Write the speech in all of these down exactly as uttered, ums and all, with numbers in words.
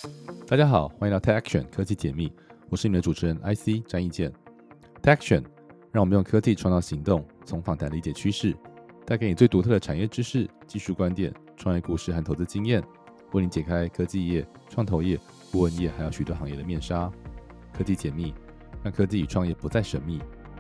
大家好，欢迎到 Tech Action 科技解密，我是你们的主持人 I C 詹义健。Tech Action 让我们用科技创造行动，从访谈理解趋势，带给你最独特的产业知识、技术观点、创业故事和投资经验，为你解开科技业、创投业、顾问业还有许多行业的面纱。科技解密，让科技与创业不再神秘。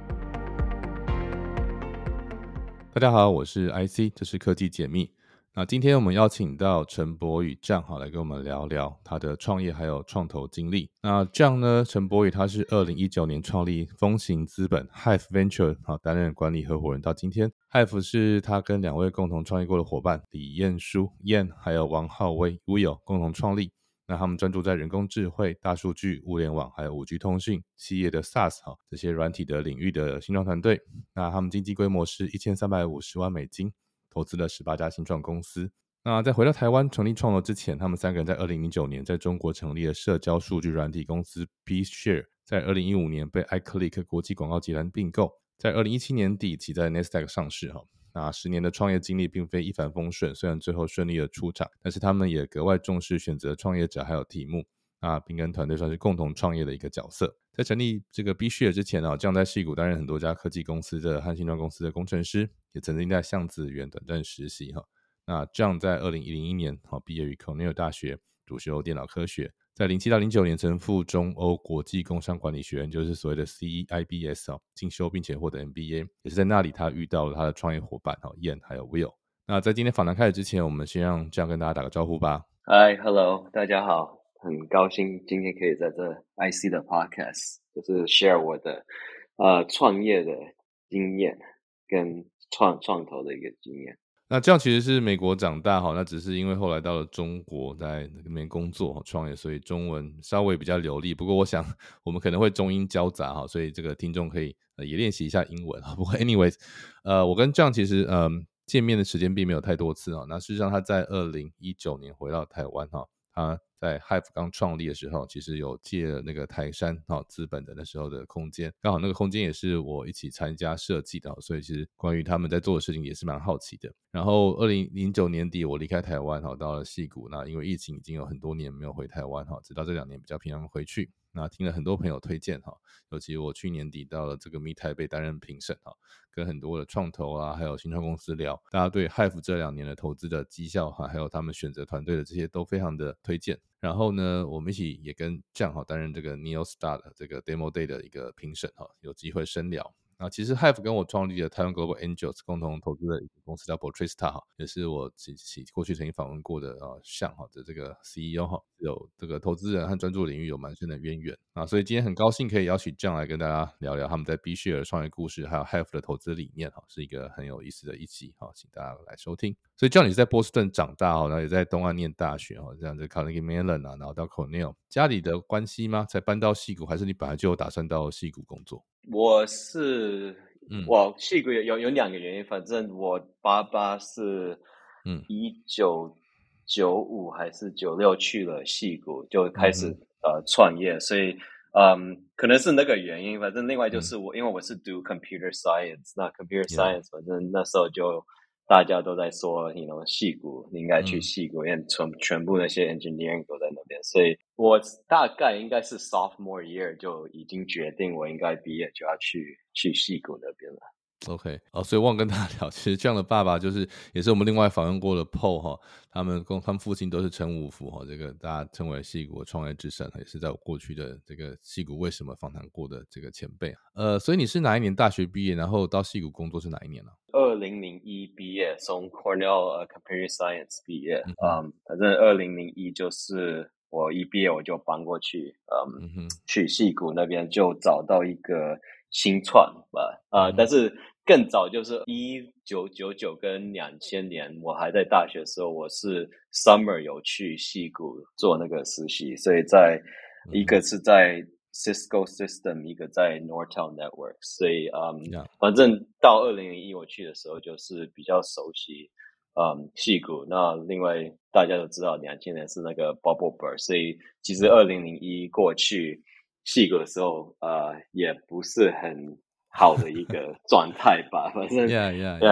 大家好，我是 I C， 这是科技解密。那今天我们邀请到陈柏宇 John 好来跟我们聊聊他的创业还有创投经历。那 John 呢，陈柏宇他是二零一九年创立风行资本 Hive Venture 好担任管理合伙人到今天。Hive 是他跟两位共同创业过的伙伴李彦书燕还有王浩威 Will 共同创立。那他们专注在人工智慧、大数据、物联网还有 五 G 通讯、企业的 SaaS 这些软体的领域的新创团队。那他们经济规模是一千三百五十万美金，投资了十八家新创公司。那在回到台湾成立创投之前，他们三个人在二零零九年在中国成立了社交数据软体公司 BeShare， 在二零一五年被 iClick 国际广告集团并购，在二零一七年底起在 Nasdaq 上市。那十年的创业经历并非一帆风顺，虽然最后顺利的出场，但是他们也格外重视选择创业者还有题目，那并跟团队算是共同创业的一个角色。在成立这个 BeShare 之前，John 在矽谷担任很多家科技公司的和新创公司的工程师，也曾经在橡子园短暂实习。那 John 在二零零一年毕业于 Cornell 大学，主修电脑科学，在零七到零九年曾赴中欧国际工商管理学院，就是所谓的 C E I B S 进修，并且获得 M B A， 也是在那里他遇到了他的创业伙伴燕还有 Will。 那在今天访谈开始之前，我们先让 John 跟大家打个招呼吧。 Hi Hello 大家好，很高兴今天可以在这 I C 的 Podcast 就是 share 我的呃创业的经验跟创创投的一个经验。 那这样其实是美国长大，那只是因为后来到了中国在那边工作创业，所以中文稍微比较流利，不过我想我们可能会中英交杂，所以这个听众可以也练习一下英文。不过 anyways 呃，我跟 John 其实呃见面的时间并没有太多次。那事实上他在二零一九年回到台湾，他在 Hive 刚创立的时候，其实有借了那个台山资本的那时候的空间，刚好那个空间也是我一起参加设计的，所以其实关于他们在做的事情也是蛮好奇的。然后二零零九年底我离开台湾到了矽谷，那因为疫情已经有很多年没有回台湾，直到这两年比较频繁回去。那听了很多朋友推荐，尤其我去年底到了这个 Meet 台北担任评审，跟很多的创投啊还有新创公司聊，大家对 Hive 这两年的投资的绩效还有他们选择团队的这些都非常的推荐。然后呢，我们一起也跟 John 担任这个 NeoStar 的这个 Demo Day 的一个评审，有机会深聊。那其实 Hive 跟我创立的台湾 Global Angels 共同投资的一个公司叫 Portrista， 也是我过去曾经访问过的像的这个 C E O， 有这个投资人和专注领域有蛮深的渊源。那所以今天很高兴可以邀请 John 来跟大家聊聊他们在 BeShare 的创业故事，还有 Hive 的投资理念，是一个很有意思的一集，请大家来收听。所以 John 你是在波士顿长大，然后也在东岸念大学，这样子 Carnegie Mellon 然后到 Cornell， 家里的关系吗？才搬到矽谷，还是你本来就有打算到矽谷工作？ 我是嗯，我矽谷有有两个原因，反正我爸爸是嗯一九九五还是九六去了矽谷，就开始、嗯、呃创业，所以嗯可能是那个原因。反正另外就是我、嗯、因为我是读 computer science， 那 computer science、yeah. 反正那时候就大家都在说 you know 矽谷，你应该去矽谷、嗯、因为全全部那些 engineering 都在那边，所以我大概应该是 sophomore year 就已经决定我应该毕业就要去去矽谷那边了。 OK， 哦，所以忘跟大家聊，其实这样的爸爸就是也是我们另外访问过的 Paul 他们跟他们父亲都是陈五福，这个大家称为矽谷创业之神，也是在我过去的这个矽谷为什么访谈过的这个前辈。呃，所以你是哪一年大学毕业，然后到矽谷工作是哪一年呢？ 二零零一毕业，从 Cornell、uh, Computer Science 毕业，嗯， um, 反正二零零一就是我一毕业我就搬过去，嗯，嗯去矽谷那边就找到一个新创吧，啊、呃嗯，但是更早就是一九九九跟两千年，我还在大学的时候，我是 summer 有去矽谷做那个实习，所以在、嗯、一个是在Cisco System， 一个在 Nortel Network， 所以嗯， yeah. 反正到二零零一我去的时候就是比较熟悉嗯矽谷。那另外大家都知道两千年是那个 Bubble Burst， 所以其实二零零一过去矽谷的时候呃也不是很好的一个状态吧，反正 yeah, yeah, yeah. 对啊，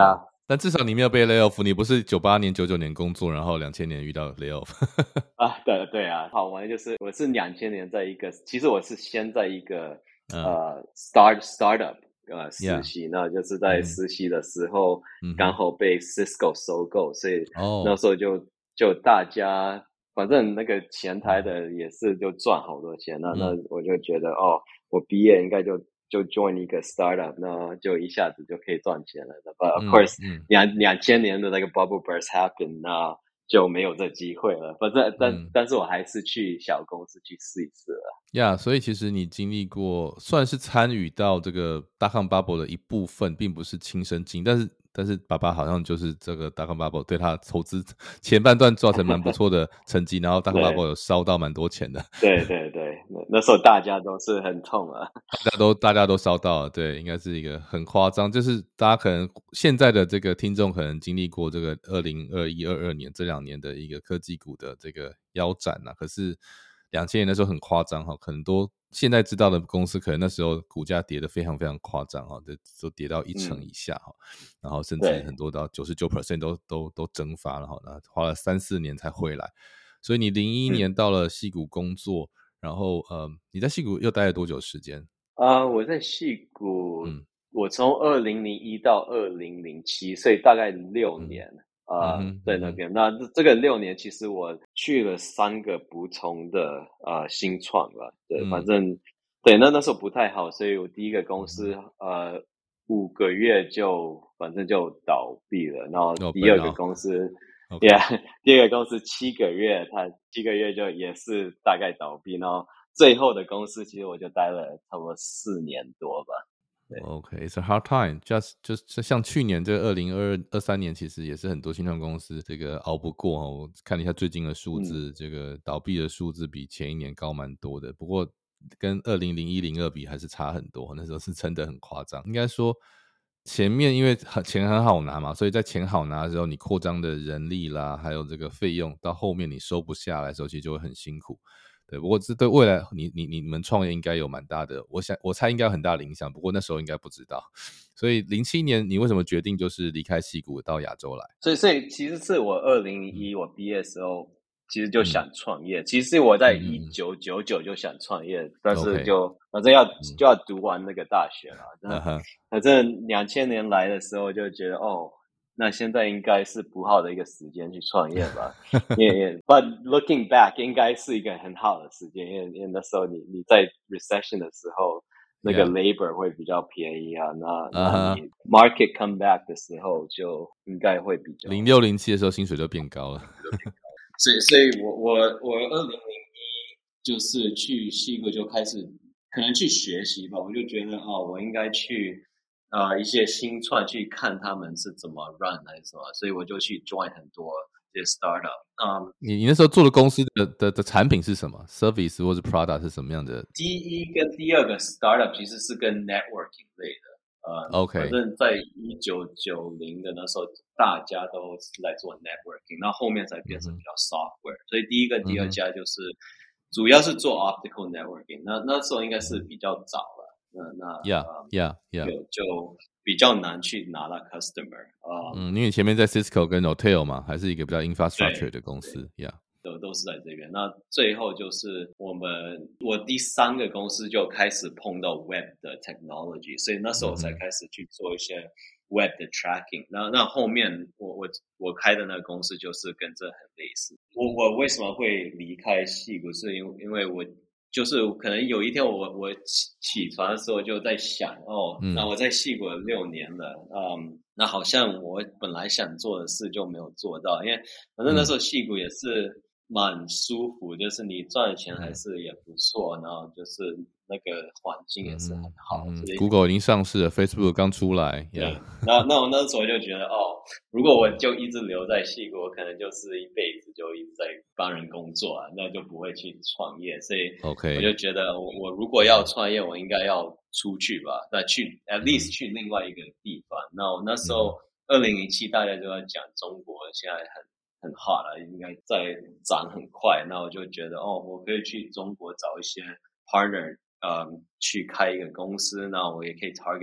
但至少你没有被 lay off， 你不是九八年、九九年工作，然后两千年遇到 lay off 啊，对对啊，好玩就是我是两千年在一个，其实我是先在一个、嗯、呃 start startup 呃实习， yeah. 那就是在实习的时候、嗯、刚好被 Cisco 收购，所以那时候就、oh. 就大家反正那个前台的也是就赚好多钱，那、嗯、那我就觉得哦，我毕业应该就就 join 一个 startup， 那就一下子就可以赚钱了。But of course， 两两千年的那个 bubble burst happened， 那就没有这机会了。反正但、嗯、但是我还是去小公司去试一试了。 呀、yeah, 所以其实你经历过，算是参与到这个大康 bubble 的一部分，并不是亲身经历，但是但是爸爸好像就是这个大康 bubble 对他投资前半段造成蛮不错的成绩，然后大康 bubble 有烧到蛮多钱的。 对对对，那时候大家都是很痛啊， 大家都大家都烧到了，对，应该是一个很夸张，就是大家可能现在的这个听众可能经历过这个二零二一、二二年这两年的一个科技股的这个腰斩啊，可是两千年的时候很夸张哈，很多现在知道的公司可能那时候股价跌得非常非常夸张哈，都跌到一成以下哈、嗯，然后甚至很多到 百分之九十九 都都都蒸发了哈，那花了三四年才回来，所以你零一年到了矽谷工作。嗯，然后呃，你在矽谷又待了多久时间？ 啊、uh, 我在矽谷，嗯，我从二零零一到二零零七，所以大概六年啊、嗯呃，在那边。嗯、那这个六年，其实我去了三个不同的呃新创吧，对，嗯、反正对，那那时候不太好，所以我第一个公司、嗯、呃五个月就反正就倒闭了，然后第二个公司。Oh, okay. Yeah， 第二个公司七个月，它七个月就也是大概倒闭，然后最后的公司其实我就待了差不多四年多吧。 OK， it's a hard time. Just 就是像去年这个二零二二三年，其实也是很多新创公司这个熬不过哦。我看了一下最近的数字，嗯、这个倒闭的数字比前一年高蛮多的。不过跟二零零一、零二比还是差很多，那时候是真的很夸张。应该说前面因为钱很好拿嘛，所以在钱好拿的时候，你扩张的人力啦，还有这个费用，到后面你收不下来的时候，其实就会很辛苦。对，不过这对未来你你你们创业应该有蛮大的，我想我猜应该有很大的影响，不过那时候应该不知道。所以零七年你为什么决定就是离开矽谷到亚洲来？ 所以所以其实是我二零零一我毕业的时候，其实就想创业。嗯、其实我在一九九九就想创业，嗯、但是就反正要、嗯、就要读完那个大学了。那反正两千年来的时候就觉得哦。那现在应该是不好的一个时间去创业吧，因为 ，but looking back 应该是一个很好的时间，因为因为那时候你你在 recession 的时候，那个 labor 会比较便宜啊，那那你 market come back 的时候就应该会比较零六零七的时候薪水就变高了， 所以所以我我我二零零一就是去矽谷就开始可能去学习吧，我就觉得哦，我应该去。呃，一些新创去看他们是怎么 run 还是什么，所以我就去 join 很多这些 startup。嗯， 你你那时候做的公司的的的产品是什么 ？service 或是 product 是什么样的？ 第一跟第二个 startup 其实是跟 networking 类的。呃 ，OK， 反正在一九九零的那时候，大家都是在做 networking， 那后面才变成比较 software、嗯。所以第一个、第二家就是、嗯、主要是做 optical networking， 那那时候应该是比较早了。那那 yeah yeah yeah 就就比较难去拿到 customer 啊、 嗯，因为前面在 Cisco 跟 Hotel 嘛，还是一个比较 infrastructure 的公司 ，yeah， 都都是在这边。那最后就是我们我第三个公司就开始碰到 web 的 technology， 所以那时候我才开始去做一些 web 的 tracking、嗯。那那后面我我我开的那个公司就是跟这很类似。我我为什么会离开矽谷？是因为因为我。就是可能有一天我我起起床的时候就在想哦，嗯、那我在矽谷六年了，嗯，那好像我本来想做的事就没有做到，因为反正那时候矽谷也是蛮舒服，就是你赚的钱还是也不错，然后就是那个环境也是很好。 嗯嗯、Google 已经上市了 ，Facebook 刚出来， 对。那那我那时候就觉得哦，如果我就一直留在矽谷，我可能就是一辈子就一直在帮人工作啊，那就不会去创业。所以我就觉得我，我如果要创业，我应该要出去吧，那去 at least 去另外一个地方。嗯、那我那时候二零零七大家就在讲中国现在很。很 hot 了，应该在涨很快。那我就觉得，哦，我可以去中国找一些 partner， 嗯，去开一个公司。那我也可以 target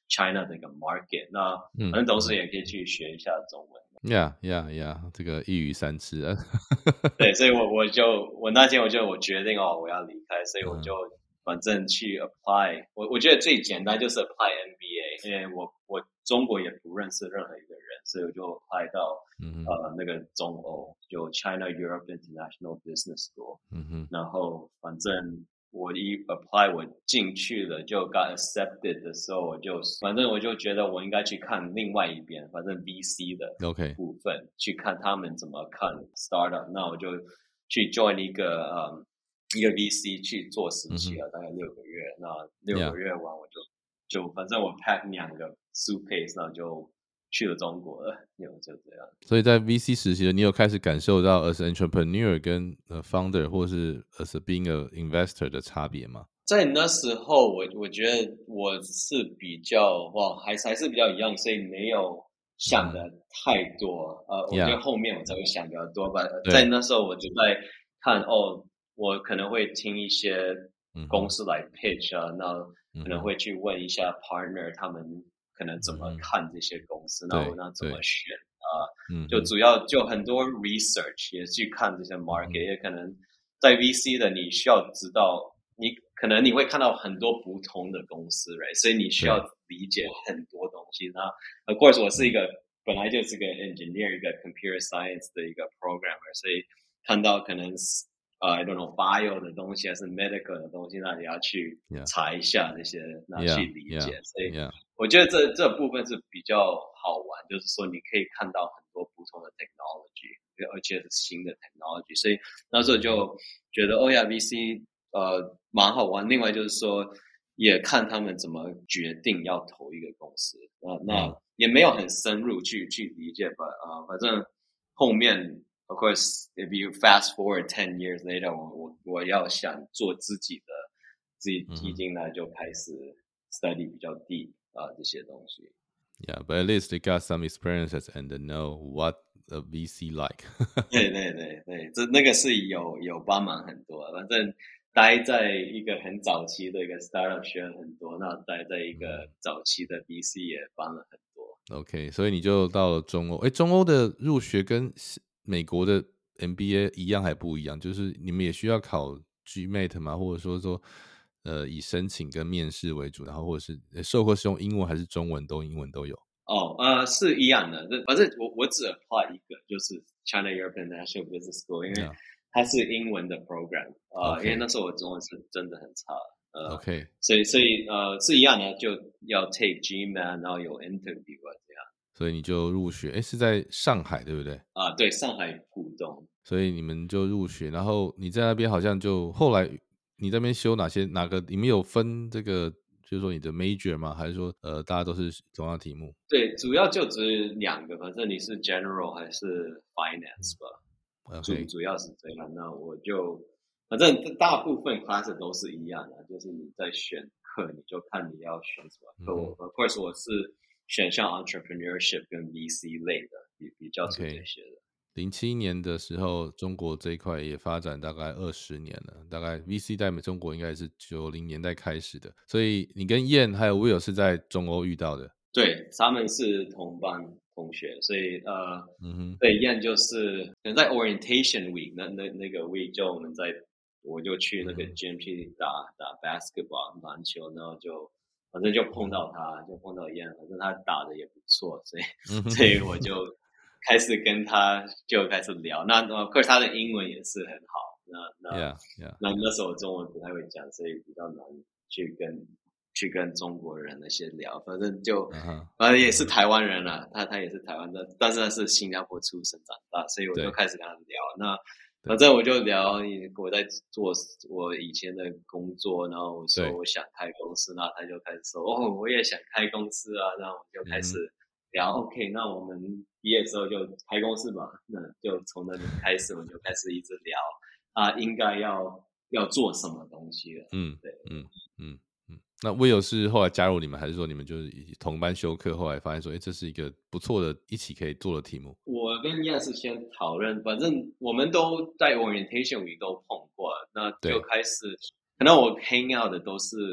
China 的一个 market。那反正同时也可以去学一下中文。 Yeah, yeah, yeah， 这个一鱼三吃啊。 对，所以我我就我那天我就我决定哦，我要离开，所以我就反正去 apply。我我觉得最简单就是 apply M B A， 因为我我中国也不认识任何一个人，所以我就 apply 到、嗯、呃那个中欧，就 China Europe International Business School。嗯哼，然后反正。我一 apply 我进去了就 got accepted 的时候，我就反正我就觉得我应该去看另外一边，反正 V C 的部分、okay. 去看他们怎么看 startup。那我就去 join 一个嗯一个 V C 去做实习了， mm-hmm. 大概六个月。那六个月完我就、yeah. 就反正我 pack 两个 suitcase， 那就去了中国了，就这样。 所以在 V C 实习的，你有开始感受到 as an entrepreneur 跟 founder 或是 as a being a investor 的差别吗？ 在那时候我我觉得我是比较哇还还是比较一样，所以没有想的太多、嗯、呃，我觉得后面我才会想比较多吧。在那时候我就在看哦，我可能会听一些公司来 pitch 啊、嗯、那可能会去问一下 partner 他们可能怎么看这些公司，那、嗯、我那怎么选啊、呃、就主要就很多 research 也去看这些 market、嗯、也可能在 V C 的你需要知道，你可能你会看到很多不同的公司 right， 所以你需要理解很多东西。那 of course 我是一个本来就是个 engineer 一个 computer science 的一个 programmer， 所以看到可能呃、uh, I don't know bio 的东西还是 medical 的东西，那你要去查一下那些，那、yeah. 去理解。Yeah. 所以我觉得这这部分是比较好玩，就是说你可以看到很多不同的 technology， 而且是新的 technology， 所以那时候就觉得哦呀 V C 呃蛮好玩。另外就是说也看他们怎么决定要投一个公司，呃、那也没有很深入去去理解吧，啊、呃，反正后面。Of course, if you fast forward ten years later, 我我我要想做自己的自己基金呢，就开始 study 比较 deep 啊、呃、这些东西。 Yeah, but at least you got some experiences and know what a V C like 。 对对对对，这那个是有有帮忙很多。反正待在一个很早期的一个 startup 学了很多，那待在一个早期的 V C 也帮了很多。 OK， 所以你就到了中欧。哎，中欧的入学跟美国的 M B A 一样还不一样？就是你们也需要考 G M A T 吗？或者说说呃以申请跟面试为主，然后或者是授课是用英文还是中文都英文都有？ 哦，呃，是一样的。反正我我只 apply 一个，就是 China European International Business School， 因为它是英文的 program， 呃、okay. 因为那时候我中文是真的很差，呃 ，OK， 所以所以呃是一样的，就要 take G M A T， 然后有 interview 啊这样。 所以你就入学，哎，是在上海对不对？ 啊，对，上海浦东。 所以你们就入学，然后你在那边好像就后来你在那边修哪些哪个？你们有分这个，就是说你的 major 吗？还是说呃大家都是同样题目？ 对，主要就只两个，反正你是 general 还是 finance 吧， okay. 主主要是这样。那我就反正大部分 class 都是一样的，就是你在选课，你就看你要选什么课。我、嗯、of course 我是选像 entrepreneurship 跟 V C 类的，比比较是这些的。 零七年的时候，中国这一块也发展大概二十年了，大概 V C 在中国应该是九零年代开始的。所以你跟燕还有 Will 是在中欧遇到的？ 对，他们是同班同学，所以呃，嗯哼，对，燕就是可能在 orientation week 那那那个 week 就我们在，我就去那个 gym 去打、嗯、打 basketball 篮球，然后就反正就碰到他，就碰到燕，反正他打的也不错，所以、嗯、所以我就开始跟他就开始聊。那 of course 他的英文也是很好，那那、yeah, yeah. 那那时候中文不太会讲，所以比较难去跟。去跟中国人那些聊，反正就，反正也是台湾人啦，他他也是台湾的，但是他是新加坡出生长大，所以我就开始跟他聊。那反正我就聊我在做我以前的工作，然后我说我想开公司，那他就开始说哦，我也想开公司啊，那我们就开始聊。嗯、OK， 那我们毕业之后就开公司吧，那就从那里开始，我们就开始一直聊啊，应该要要做什么东西了。嗯，对，嗯嗯。那 Will 是后来加入你们，还是说你们就是同班修课，后来发现说，哎，这是一个不错的一起可以做的题目？ 我跟燕是先讨论，反正我们都在 orientation week 都碰过，那就开始，可能我 hang out 的都是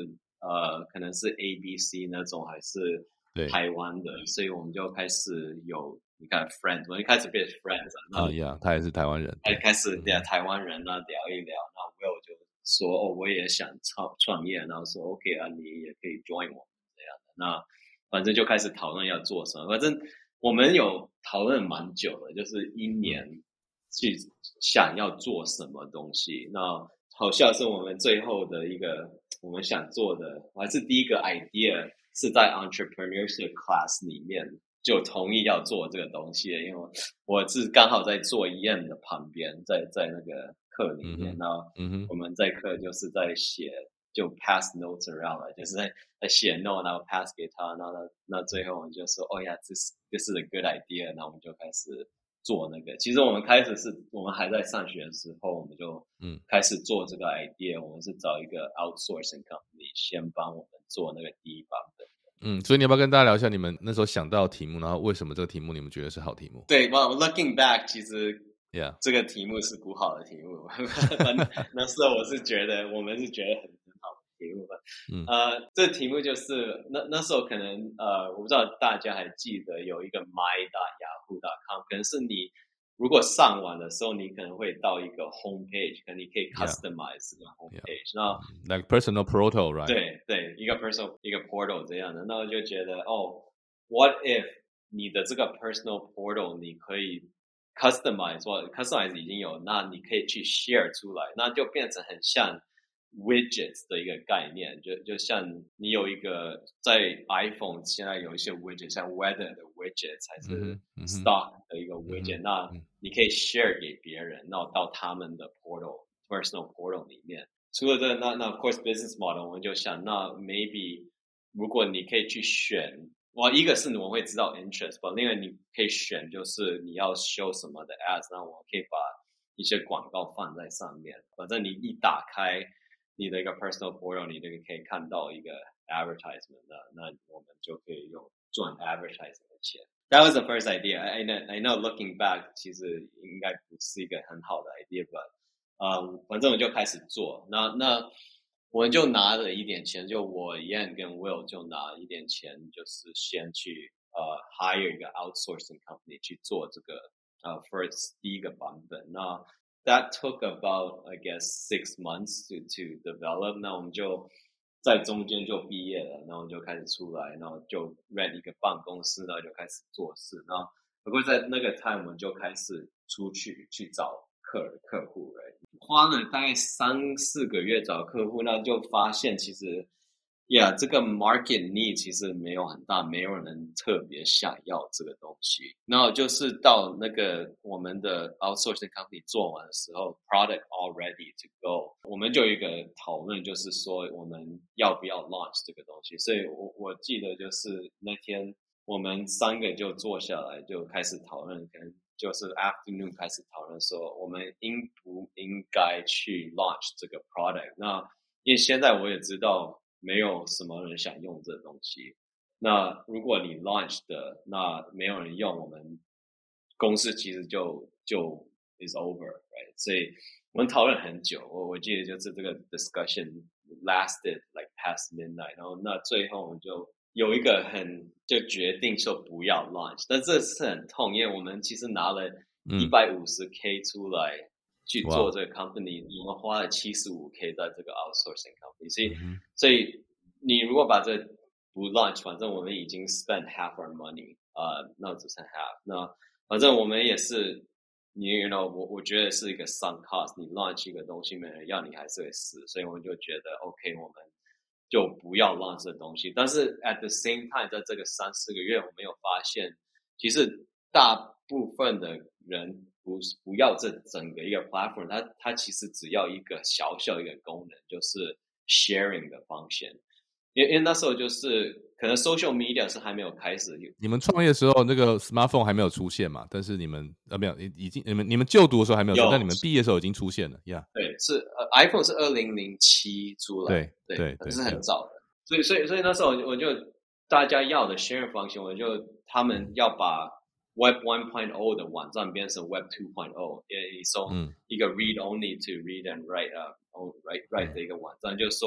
呃，可能是 A B C 那种，还是台湾的，所以我们就开始有你看 friends， 我们一开始变 friends 啊，呀、啊 yeah, 他也是台湾人， 开开始聊台湾人啊，聊一聊，那 Will 就说哦，我也想创创业，然后说 OK 啊，你也可以 join 我们这样的，那反正就开始讨论要做什么，反正我们有讨论蛮久的，就是一年去想要做什么东西，那好像是我们最后的一个我们想做的，还是第一个 idea 是在 entrepreneurship class 里面就同意要做这个东西的，因为我是刚好在做 E M 的旁边，在在那个课里面，那、嗯、我们在课就是在写，就 pass notes around 了，就是在在写 note， 然后 pass 给他，然后那最后我们就说，哦呀，这是这是 a good idea， 那我们就开始做那个。其实我们开始是我们还在上学的时候，我们就嗯开始做这个 idea，、嗯、我们是找一个 outsourcing company 先帮我们做那个第一版本。 嗯，所以你要不要跟大家聊一下你们那时候想到的题目，然后为什么这个题目你们觉得是好题目？ 对 ，well looking back， 其实 ，yeah， 这个题目是不好的题目。那时候我是觉得，我们是觉得很很好的题目吧。嗯，呃，这题目就是那那时候可能呃，我不知道大家还记得有一个 my dot yahoo dot com， 可能是你如果上网的时候，你可能会到一个 home page， 可能你可以 customize 这个 home page， yeah. 那 like personal portal right？ 对对，一个 personal 一个 portal 这样的，那我就觉得哦 ，what if 你的这个 personal portal 你可以 customize， 或 customize 已经有，那你可以去 share 出来，那就变成很像 widgets 的一个概念，就就像你有一个在 iPhone 现在有一些 widget， 像 weather 的 widgets 还是 stock 的一个 widget，、嗯、那你可以 share 给别人，然后到他们的 portal personal portal 里面。除了这个，那那 of course business model， 我们就想，那 maybe 如果你可以去选，哇，一个是我们会知道 interest， 吧，另外你可以选就是你要 show 什么的 ads， 那我可以把一些广告放在上面，反正你一打开你的一个 personal portal， 你就可以看到一个 advertisement， 那那我们就可以用赚 advertising 的钱。That was the first idea. I know, I know looking back， 其实应该不是一个很好的 idea，but嗯，反正我就开始做，那那我们就拿了一点钱，就我 Yan 跟 Will 就拿一点钱，就是先去呃 hire 一个 outsourcing company 去做这个呃 first 第一个版本。那 that took about I guess six months to to develop。那我们就在中间就毕业了，然后就开始出来，然后就 rent 一个办公室，然后就开始做事。然后不过在那个 time 我们就开始出去去找客客户，花了大概三四个月找客户，那就发现其实 ，yeah， 这个 market need 其实没有很大，没有人特别想要这个东西。然后就是到那个我们的 outsourcing company 做完的时候 ，product all ready to go， 我们就有一个讨论，就是说我们要不要 launch 这个东西。所以我我记得就是那天我们三个就坐下来就开始讨论，跟就是 afternoon 开始讨论说我们应不应该去 launch 这个 product。那因为现在我也知道没有什么人想用这东西，那如果你 launch 的那没有人用，我们公司其实就就 is over right。 所以我们讨论很久，我我记得就是这个 discussion lasted like past midnight， 然后那最后我们就有一个很就决定说不要 launch， 但这是很痛，因为我们其实拿了一百五十 K 出来去做这个 company，、嗯、我们花了七十五 K 在这个 outsourcing company， 所以、嗯、所以你如果把这不 launch， 反正我们已经 spend half our money， 呃，那只剩 half， 那反正我们也是你 you know 我我觉得是一个 sunk cost， 你 launch 一个东西没人要你还是会死，所以我们就觉得 OK， 我们就不要 launch 这东西。但是 at the same time， 在这个三四个月，我们有发现，其实大部分的人不不要这整个一个 platform， 它它其实只要一个小小一个功能，就是 sharing 的function。因为因为那时候就是可能 social media 是还没有开始。 你们创业的时候，那个 smartphone 还没有出现嘛？但是你们呃没有，已经你们你们就读的时候还没有出现，但你们毕业的时候已经出现了呀。 Yeah. 对，是呃 iPhone 是二零零七出来， 对对对，是很早的。所以所以所以那时候我就大家要的 sharing function， 我就他们要把 Web one point oh 的网站变成 Web two point oh， 也从一个 read only to read and write 啊、uh, write write 的一个网站，就是说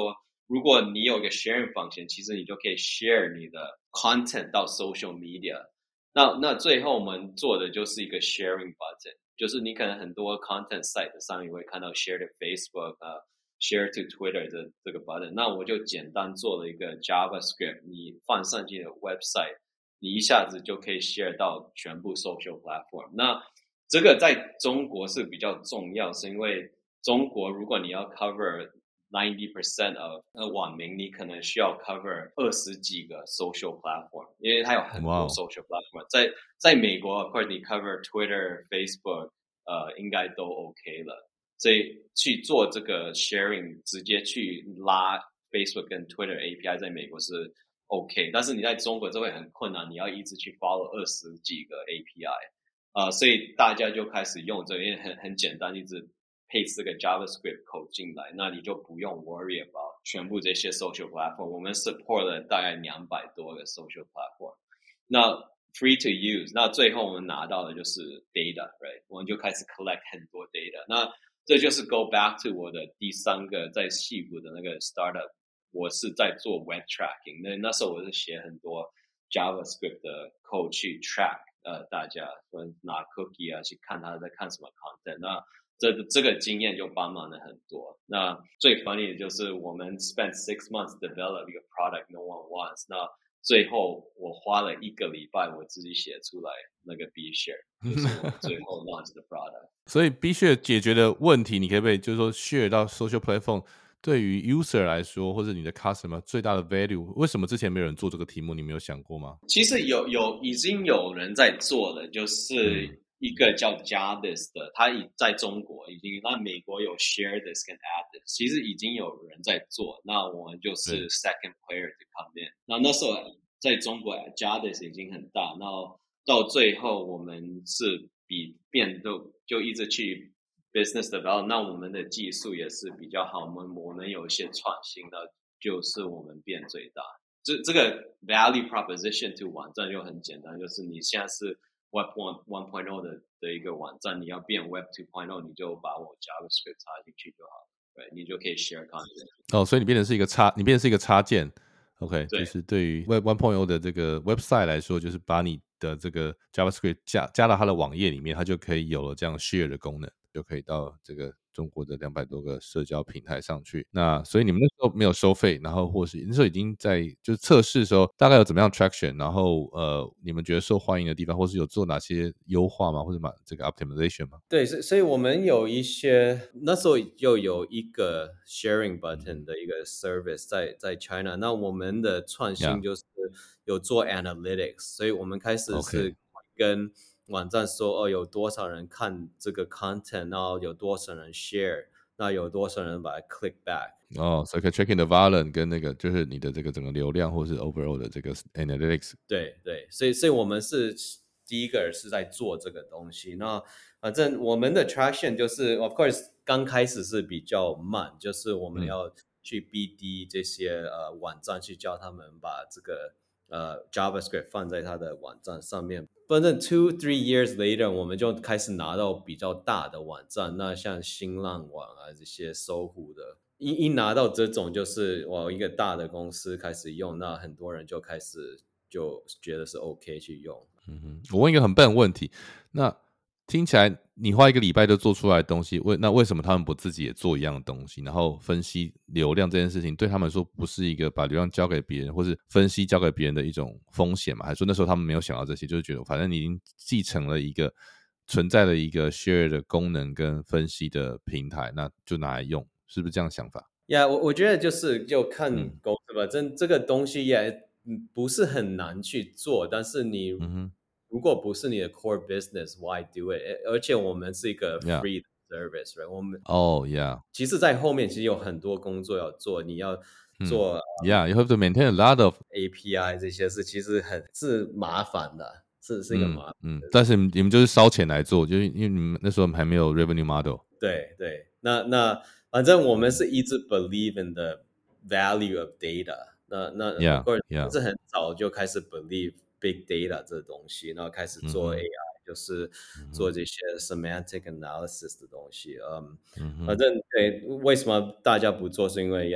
如果你有个 sharing function，其实你就可以 share 你的 content 到 social media。那那最后我们做的就是一个 sharing button，就是你可能很多 content site 上面会看到 share to Facebook 啊，share to Twitter 的这个 button。那我就简单做了一个 JavaScript，你放上去的 website，你一下子就可以 share 到全部 social platform。那这个在中国是比较重要，是因为中国如果你要 cover ninety percent of 呃网民，你可能需要 cover 二十几个 social platform， 因为它有很多 social platform。Wow. 在在美国 of course 你 cover Twitter、Facebook， 呃应该都 OK 了。所以去做这个 sharing， 直接去拉 Facebook 跟 Twitter A P I， 在美国是 OK， 但是你在中国这会很困难，你要一直去 follow 二十几个 A P I。呃，所以大家就开始用这个，因为很很简单，一直配这个 JavaScript code 进来，那你就不用 worry about 全部这些 social platform。我们 support 了大概两百多个 social platform， 那 free to use。那最后我们拿到的就是 data，right？ 我们就开始 collect 很多 data。那这就是 go back to 我的第三个在矽谷的那个 startup， 我是在做 web tracking。那那时候我是写很多 JavaScript 的 code 去 track。呃，大家拿 cookie 啊去看他在看什么 content， 那这这个经验就帮忙了很多。那最 funny 的就是我们 spend six months develop 一个 product no one wants， 那最后我花了一个礼拜我自己写出来那个 B share， 就是我最后 launch 的 product。 所以 B share 解决的问题，你可不可以就是说 share 到 social platform？对于 user 来说，或者你的 customer 最大的 value， 为什么之前没有人做这个题目？你没有想过吗？ 其实有有已经有人在做了，就是一个叫 Jadis 的，他已在中国已经，那美国有 Share This 跟 Add This， 其实已经有人在做。那我们就是 second player to come in。那那时候在中国 Jadis 已经很大，然后到最后我们是比变都就一直去。business development， 那我们的技术也是比较好，我们我们有一些创新的，就是我们变最大。这这个 value proposition to 网站就很简单，就是你现在是 Web one one point oh 的的一个网站，你要变 Web two point oh， 你就把我 JavaScript 插进去就好了，对，你就可以 share content。 哦，所以你变成是一个插，你变成是一个插件。OK， 就是对于 Web one point oh 的这个 website 来说，就是把你的这个 JavaScript 加加到它的网页里面，它就可以有了这样 share 的功能，就可以到这个中国的两百多个社交平台上去。那所以你们那时候没有收费，然后或是那时候已经在就是测试的时候，大概有怎么样 traction， 然后呃，你们觉得受欢迎的地方，或是有做哪些优化吗？或者这个 optimization 吗？ 对，所以我们有一些那时候就有一个 sharing button 的一个 service 在在 China， 那我们的创新就是有做 analytics， 所以我们开始是跟网站说哦，有多少人看这个 content， 然后有多少人 share， 那有多少人把它 click back。 哦，所以可以 check in the volume 跟那个就是你的这个整个流量或是 overall 的这个 analytics。 对对，所以所以我们是第一个是在做这个东西。那反正我们的 traction 就是，of course 刚开始是比较慢，就是我们要去 B D 这些、嗯、呃网站，去教他们把这个呃 JavaScript 放在他的网站上面。反正 two three years later， 我们就开始拿到比较大的网站，那像新浪网啊这些搜狐的。一一拿到这种就是我一个大的公司开始用，那很多人就开始就觉得是 OK 去用。 嗯哼，我问一个很笨的问题，那听起来你花一个礼拜就做出来的东西，为那为什么他们不自己也做一样的东西？然后分析流量这件事情对他们说不是一个把流量交给别人，或是分析交给别人的一种风险嘛？还是说那时候他们没有想到这些，就是觉得反正你已经继承了一个存在的一个 share 的功能跟分析的平台，那就拿来用。是不是这样想法？ 呀、yeah, 我我觉得就是就看公司吧，这、嗯、这个东西也不是很难去做，但是你如果不是你的 core business，why do it？ 而且我们是一个 free service，、right? 我们哦、oh, yeah， 其实在后面其实有很多工作要做，你要做、 嗯、，yeah，you have to maintain a lot of A P I 这些事，其实很是麻烦的，是是一个麻烦嗯，嗯，但是你们就是烧钱来做，就是因为你们那时候还没有 revenue model。 对对，那那。反正我们是一直 believe in the value of data， 那那 yeah, yeah. 是很早就开始 believe big data 这东西，然后开始做 A I，、嗯、就是做这些 semantic analysis 的东西。嗯，嗯反正对，为什么大家不做？是因为呀，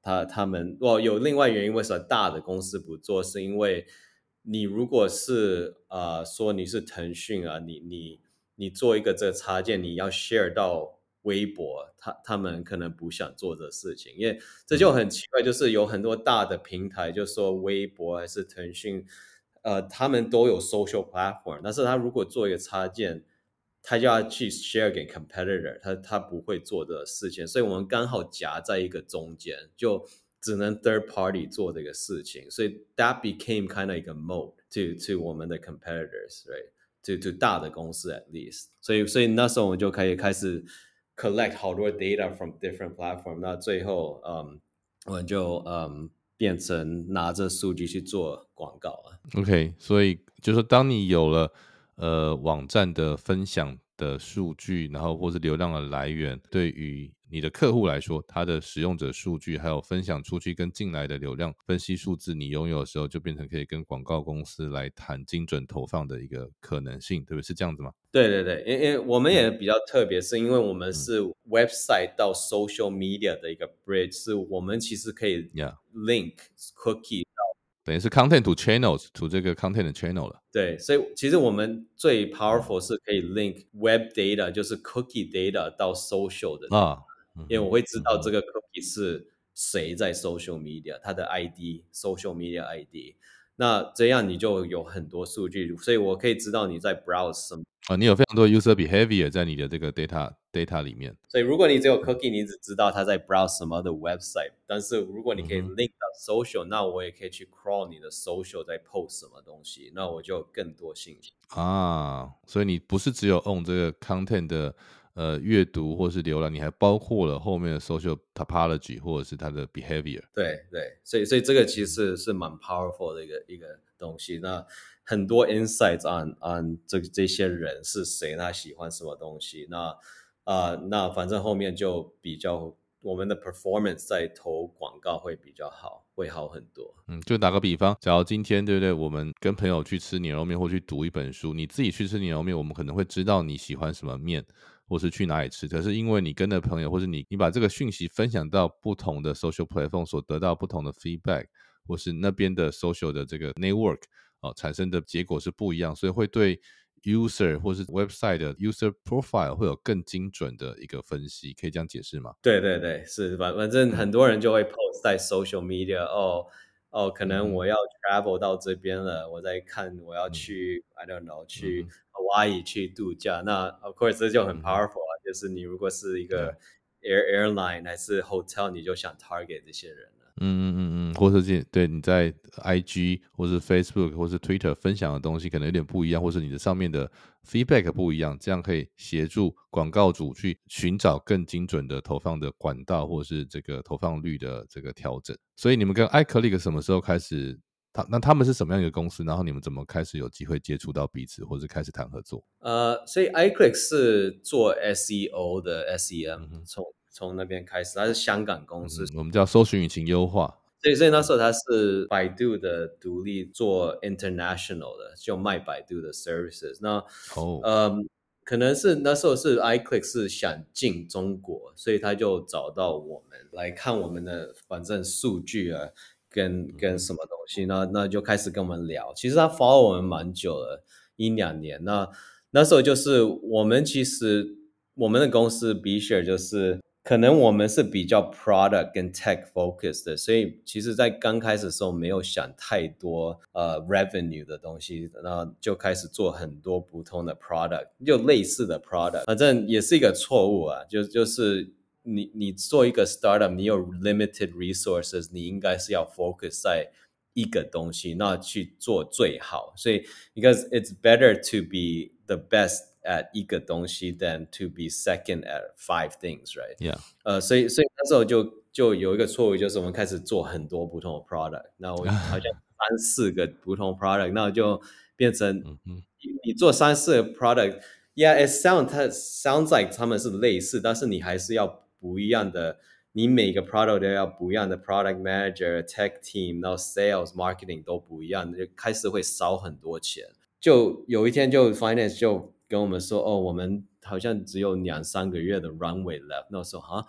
他他们哦有另外原因，为什么大的公司不做？是因为你如果是呃说你是腾讯啊，你你你做一个这个插件，你要 share 到微博，他他们可能不想做这事情，因为这就很奇怪，就是有很多大的平台，就说微博还是腾讯，呃，他们都有 social platform， 但是他如果做一个插件，他就要去 share 给 competitor， 他他不会做的事情，所以我们刚好夹在一个中间，就只能 third party 做这个事情，所以 that became kind of 一个 mode to to 我们的 competitors， right？ to to 大的公司 at least， 所以所以那时候我们就可以开始 collect 好多 data from different platform， 那最后嗯我们就嗯变成拿着数据去做广告了。 OK， 所以就是当你有了呃网站的分享的数据，然后或是流量的来源，对于你的客户来说，他的使用者数据还有分享出去跟进来的流量分析数字，你拥有的时候，就变成可以跟广告公司来谈精准投放的一个可能性，对不对？是这样子吗？ 对对对，因因为我们也比较特别，是因为我们是 website 到 social media 的一个 bridge， 是我们其实可以 link cookie 到， 等于是 content to channels to 这个 content 的 channel 了。 对，所以其实我们最 powerful 是可以 link web data， 就是 cookie data 到 social 的啊，因为我会知道这个 cookie 是谁在 social media， 它的 I D，social media I D。那这样你就有很多数据，所以我可以知道你在 browse 什么。 啊，你有非常多 user behavior 在你的这个 data data 里面。 所以如果你只有 cookie， 你只知道他在 browse 什么的 website， 但是如果你可以 link 到 social， 那我也可以去 crawl 你的 social 在 post 什么东西，那我就有更多信息啊。所以你不是只有 own 这个 content 的呃阅读或是浏览，你还包括了后面的 social topology 或者是它的 behavior。 对对，所以所以这个其实是蛮 powerful 的一个一个东西。那很多 insights on on 这这些人是谁，他喜欢什么东西，那啊、呃、那反正后面就比较我们的 performance 在投广告会比较好，会好很多。 嗯，就打个比方，假如今天对不对，我们跟朋友去吃牛肉面或去读一本书，你自己去吃牛肉面，我们可能会知道你喜欢什么面，或是去哪里吃。可是因为你跟的朋友，或是你你把这个讯息分享到不同的 social platform， 所得到不同的 feedback， 或是那边的 social 的这个 network 哦，产生的结果是不一样，所以会对 user 或是 website 的 user profile 会有更精准的一个分析，可以这样解释吗？ 对对对，是反反正很多人就会 post 在 social media， 哦哦，可能我要 travel 到这边了，我在看我要去、嗯、I don't know 去 Hawaii 去度假，那 of course 这就很 powerful 啊，就是你如果是一个 air airline 还是 hotel， 你就想 target 这些人。 嗯嗯嗯嗯，或是对你在 I G 或是 Facebook 或是 Twitter 分享的东西可能有点不一样，或是你的上面的 feedback 不一样，这样可以协助广告主去寻找更精准的投放的管道，或是这个投放率的这个调整。所以你们跟 iClick 什么时候开始？他那他们是什么样一个公司？然后你们怎么开始有机会接触到彼此，或是开始谈合作？ 呃，所以 iClick 是做 S E O 的 S E M，、嗯、从从那边开始，它是香港公司， 嗯、我们叫搜寻引擎优化。 所以，所以那时候它是百度的独立做 international 的，就卖百度的 services。那哦，呃，可能是那时候是 iClick 是想进中国，所以他就找到我们来看我们的反正数据啊，跟跟什么东西，那那就开始跟我们聊。其实他 follow 我们蛮久了，一两年。那那时候就是我们其实我们的公司 B-Share 就是可能我们是比较 product 跟 tech focused 的，所以其实在刚开始的时候没有想太多呃 revenue 的东西，然后就开始做很多不同的 product， 就类似的 product， 反正也是一个错误啊，就就是你你做一个 startup， 你有 limited resources， 你应该是要 focus 在一个东西，那去做最好。所以 because it's better to be the best at 一个东西 than to be second at five things, right? Yeah. 呃，所以所以那时候就就有一个错误，就是我们开始做很多不同的 product， 那我好像三四个不同 product， 那就变成你你做三四个 product。Yeah, it sounds it sounds like 他们是类似，但是你还是要不一样的，你每个 product 都要不一样的 product manager、tech team， 然后 sales、marketing 都不一样，就开始会烧很多钱。就有一天就 finance 就跟我们说，哦，我们好像只有两三个月的 runway left。那时候啊，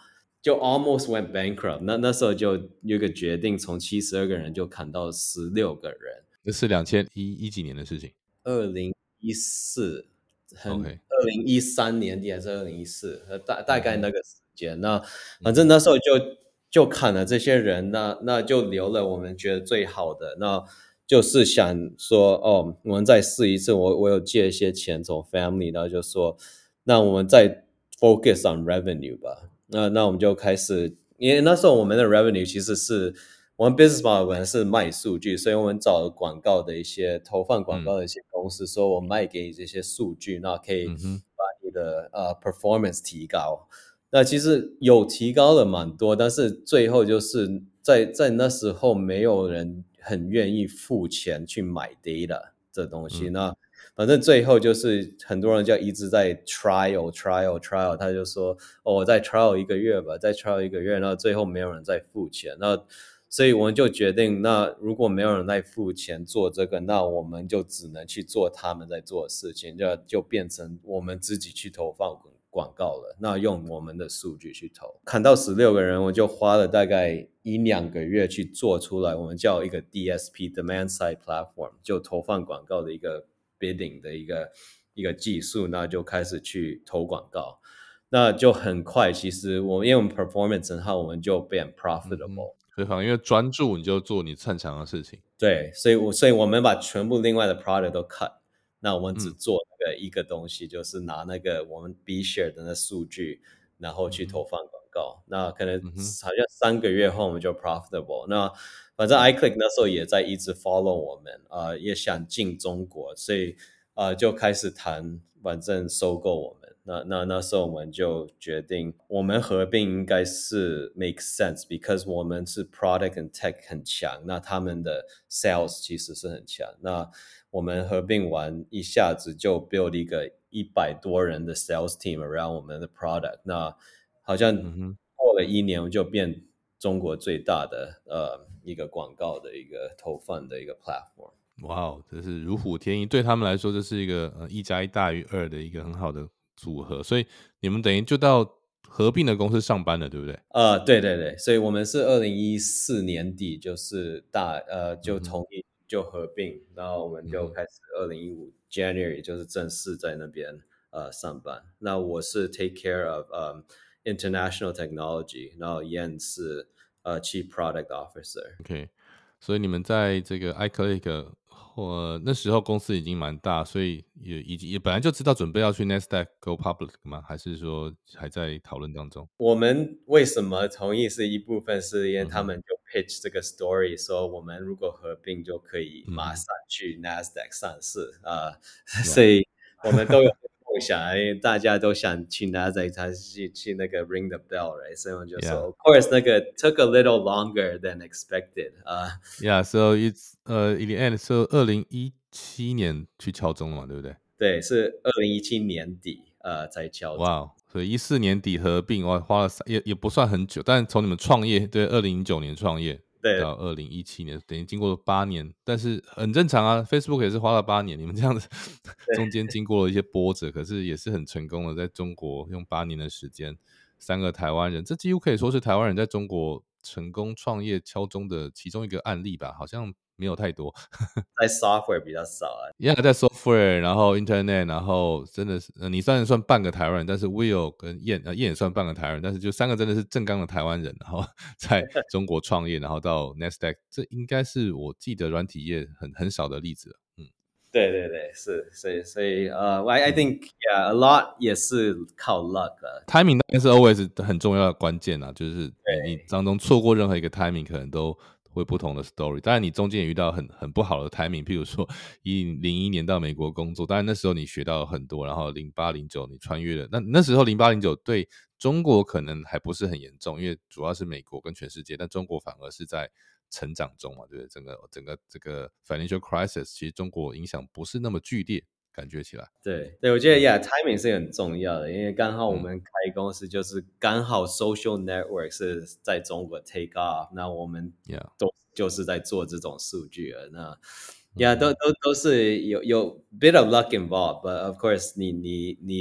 就 almost went bankrupt。那那时候就有一个决定，从七十二个人就砍到十六个人。 这是两千一一几年的事情。 二零一四，很 OK， 二零一三年底还是二零一四，大大概那个时间。 嗯、 那反正那时候就就砍了这些人，那那就留了我们觉得最好的，那就是想说，哦，我们再试一次。我我有借一些钱从 family， 然后就说，那我们再 focus on revenue 吧。那那我们就开始，因为那时候我们的 revenue 其实是我们 business model 本来是卖数据，所以我们找了广告的一些投放广告的一些公司，嗯、说我卖给你这些数据，那可以把你的、嗯、呃 performance 提高。那其实有提高了蛮多，但是最后就是在在那时候没有人很愿意付钱去买 data 这东西。嗯、那反正最后就是很多人就一直在 trial trial trial， 他就说哦，我再 trial 一个月吧，再 trial 一个月，那最后没有人再付钱。那所以我们就决定，那如果没有人在付钱做这个，那我们就只能去做他们在做的事情，就就变成我们自己去投放广告了。那用我们的数据去投，砍到十六个人，我就花了大概一两个月去做出来，我们叫一个 D S P Demand Side Platform， 就投放广告的一个 bidding 的一个一个技术，那就开始去投广告。那就很快，其实我因为我们 performance 很好，我们就变 profitable。 嗯、所以反正因为专注，你就做你擅长的事情。 对，所以我所以我们把全部另外的 product 都 cut， 那我们只做那个一个东西，嗯、就是拿那个我们 B share 的那数据，然后去投放广告。嗯、那可能好像三个月后我们就 profitable。那反正 iClick 那时候也在一直 follow 我们，呃，也想进中国，所以呃就开始谈，反正收购我们。那那那时候我们就决定，我们合并应该是 make sense，because 我们是 product and tech 很强，那他们的 sales 其实是很强。那我们合并完，一下子就 build 一个一百多人的 sales team around 我们的 product。那好像过了一年，我们就变中国最大的呃一个广告的一个投放的一个 platform。 哇哦，这是如虎添翼，对他们来说，这是一个呃一加一大于二的一个很好的组合，所以你们等于就到合并的公司上班了，对不对？ 呃，对对对，所以我们是二零一四年底就是大呃就同意就合并，嗯、然后我们就开始二零一五 January 就是正式在那边呃上班。那我是 take care of、um, international technology， 然后 Yan 是呃 Chief Product Officer。OK， 所以你们在这个 iClick。或那时候公司已经蛮大，所以也已经也本来就知道准备要去 Nasdaq go public 吗？还是说还在讨论当中？ 我们为什么同意是一部分是因为他们就 pitch 这个 story， 说我们如果合并就可以马上去 Nasdaq 上市啊、嗯呃，所以我们都有梦想，因为大家都想去 Nasdaq， 才去去那个 ring the bell，right？ 所以我们就说 yeah. of course 那个 took a little longer than expected 啊、 uh, yeah so it's 呃、uh, in the end so 二零一七年去敲钟了嘛，对不对？ 对，是二零一七年底呃才敲钟。 哇、wow, 所以一四年底合并，哇，花了也也不算很久，但从你们创业，对，二零零九年创业。 对， 到二零一七年，等于经过了八年，但是很正常啊。Facebook 也是花了八年，你们这样子中间经过了一些波折，可是也是很成功的，在中国用八年的时间，三个台湾人，这几乎可以说是台湾人在中国成功创业敲钟的其中一个案例吧，好像没有太多。 在 software 比较少啊。 Yeah， 在 software， 然后 internet， 然后真的是、呃、你虽然算半个台湾人，但是 Will 跟燕呃燕也算半个台湾人，但是就三个真的是正纲的台湾人，然后在中国创业，然后到 Nasdaq， 这应该是我记得软体业很很少的例子了。嗯， 对对对，是，所以所以呃、uh, ，I I think yeah a lot 也是靠 luck 啊。 timing 当然是 always 很重要的关键啊，就是你你当中错过任何一个 timing， 可能都会不同的 story。当然你中间也遇到很很不好的 timing， 譬如说一零一年到美国工作，当然那时候你学到了很多，然后零八零九你穿越了，那那时候零八零九对中国可能还不是很严重，因为主要是美国跟全世界，但中国反而是在成长中嘛，对不对？整个整个这个 financial crisis， 其实中国影响不是那么剧烈。感觉起来， 对对，我觉得 yeah timing 是很重要的，因为刚好我们开公司就是刚好 social network 是在中国 take off， 那我们都就是在做这种数据了，那 yeah 都都都是有有 bit of luck involved，but of course 你你你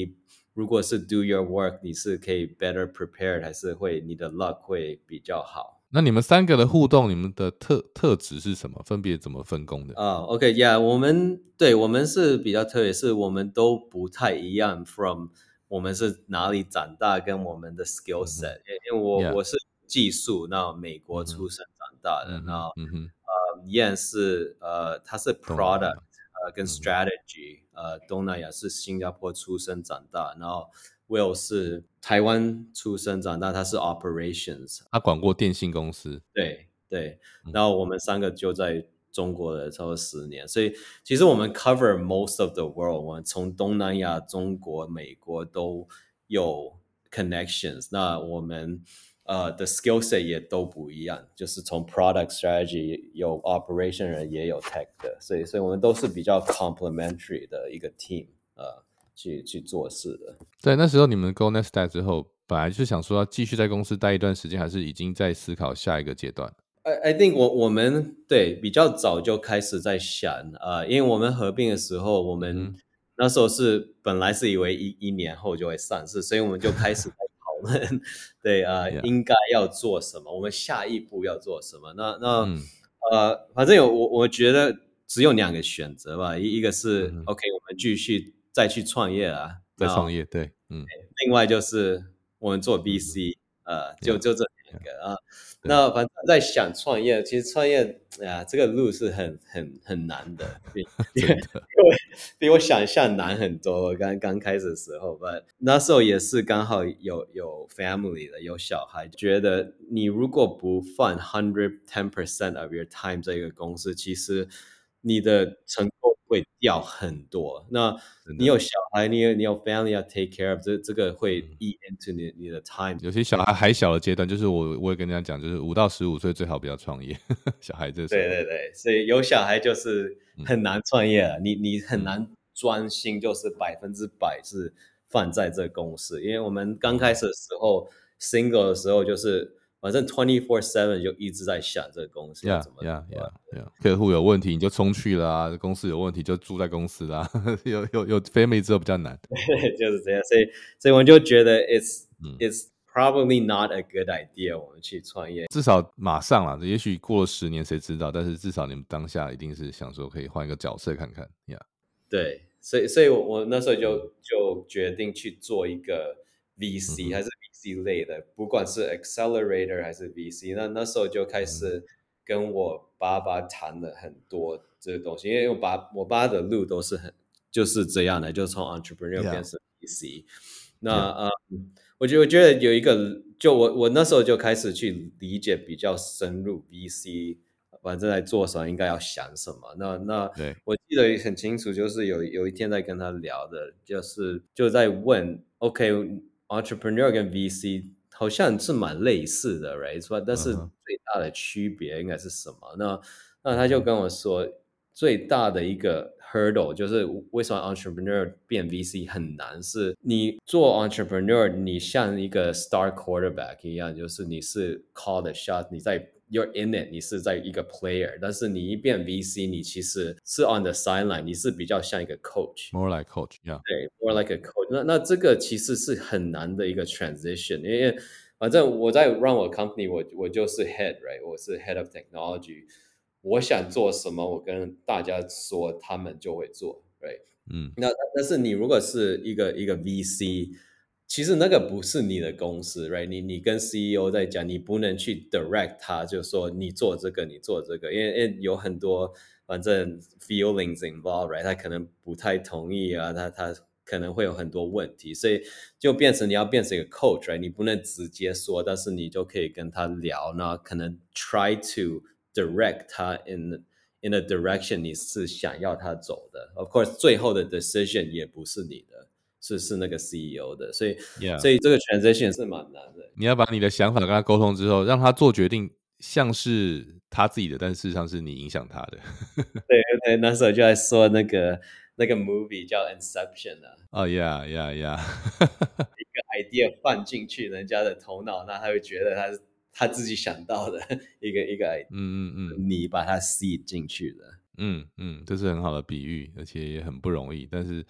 如果是 do your work， 你是可以 better prepared， 还是会你的 luck 会比较好？ 那你们三个的互动，你们的特特质是什么？分别怎么分工的？ 啊、uh, ，OK， yeah， 我们对我们是比较特别，是我们都不太一样 ，from 我们是哪里长大，跟我们的 skill set，、嗯、因为我、yeah. 我是技术，那美国出生长大的，嗯、那嗯哼呃 Yan 是呃他是 product 呃跟 strategy，、嗯、呃东南亚是新加坡出生长大，然后 Will 是台湾出生长大，他是 operations， 他管过电信公司， 对对，然后我们三个就在中国的超过十年，所以其实我们 cover most of the world， 我们从东南亚、中国、美国都有 connections。那我们呃的 skill set 也都不一样，就是从 product strategy 有 operation 人也有 tech 的，所以所以我们都是比较 complementary 的一个 team， 呃，去去做事的。 对，那时候你们 go Nasdaq 之后，本来就是想说要继续在公司待一段时间，还是已经在思考下一个阶段 ？I I think 我我们对比较早就开始在想啊、呃，因为我们合并的时候，我们、嗯、那时候是本来是以为一一年后就会上市，所以我们就开始在讨论，对啊、呃 yeah. 应该要做什么，我们下一步要做什么。那那、嗯、呃，反正有我我觉得只有两个选择吧，一一个是、嗯、OK， 我们继续再去创业啊， 再创业，对，嗯， 另外就是我们做 V C，、嗯、呃，就就这两个啊。那反正在想创业，其实创业啊，这个路是很很很难的，比比比我想象难很多。我刚刚开始的时候，但那时候也是刚好有有 family 的，有小孩，觉得你如果不放 hundred ten percent of your time 这个公司，其实你的成功会掉很多。那你有小孩，你有你有 family 要 take care of， 这这个会 eat into 你你的 time。 有些小孩还小的阶段，就是我我也跟人家讲，就是五到十五岁最好不要创业。小孩这时候， 对对对，所以有小孩就是很难创业了，嗯、你你很难专心，就是百分之百是放在这公司。因为我们刚开始的时候、嗯、，single 的时候就是反正 twenty-four seven 就一直在想这个公司要怎么做。 Yeah, yeah, yeah, yeah. 客户有问题你就冲去啦、啊，公司有问题就住在公司啦、啊。有有有 family 之后比较难， 就是这样。所以所以我就觉得 it's、嗯、it's probably not a good idea 我们去创业。 至少马上啦，也许过了十年谁知道？但是至少你们当下一定是想说可以换一个角色看看。Yeah， 对，所以所以我我那时候就就决定去做一个 V C、嗯、还是 V C 类的，不管是 accelerator 还是 V C， 那那时候就开始跟我爸爸谈了很多这个东西，因为我爸我爸的路都是很就是这样的，就从 entrepreneur 变成 V C。Yeah. 那呃、嗯，我觉得我觉得有一个，就我我那时候就开始去理解比较深入 V C。反正在做什么，应该要想什么。那那我记得很清楚，就是有有一天在跟他聊的，就是就在问 ，OK，entrepreneur、okay, 跟 V C 好像是蛮类似的 ，right？ 但是最大的区别应该是什么？ uh-huh. 那那他就跟我说，最大的一个 hurdle 就是为什么 entrepreneur 变 V C 很难，是你做 entrepreneur， 你像一个 star quarterback 一样，就是你是 call the shot， 你在You're in it， 你是在一个 player， 但是你一变 V C， 你其实是 on the sideline， 你是比较像一个 coach。More like coach， yeah。 对 ，more like a coach 那。那这个其实是很难的一个 transition， 因为反正我在 run 我 company， 我我就是 head，right， 我是 head of technology， 我想做什么，我跟大家说，他们就会做 ，right。嗯，那但是你如果是一个一个 V C。其实那个不是你的公司 ，right？ 你你跟 C E O 在讲，你不能去 direct 他，就说你做这个，你做这个，因为因为有很多反正 feelings involved，right？ 他可能不太同意啊，他他可能会有很多问题，所以就变成你要变成一个 coach，right？ 你不能直接说，但是你就可以跟他聊，那可能 try to direct 他 in in a direction 你是想要他走的。Of course， 最后的 decision 也不是你的。是是那个 C E O 的，所以、yeah. 所以这个 transition 是蛮难的。 你要把你的想法跟他沟通之后，让他做决定，像是他自己的，但事实上是你影响他的。 对对，那时候就在说那个那个 movie 叫 Inception 啊。 哦、oh, yeah yeah yeah 一个 idea 放进去人家的头脑，那他会觉得他是他自己想到的一个一个 idea， 嗯嗯嗯， 你把它 seed 进去的。 嗯嗯，这是很好的比喻，而且也很不容易，但是。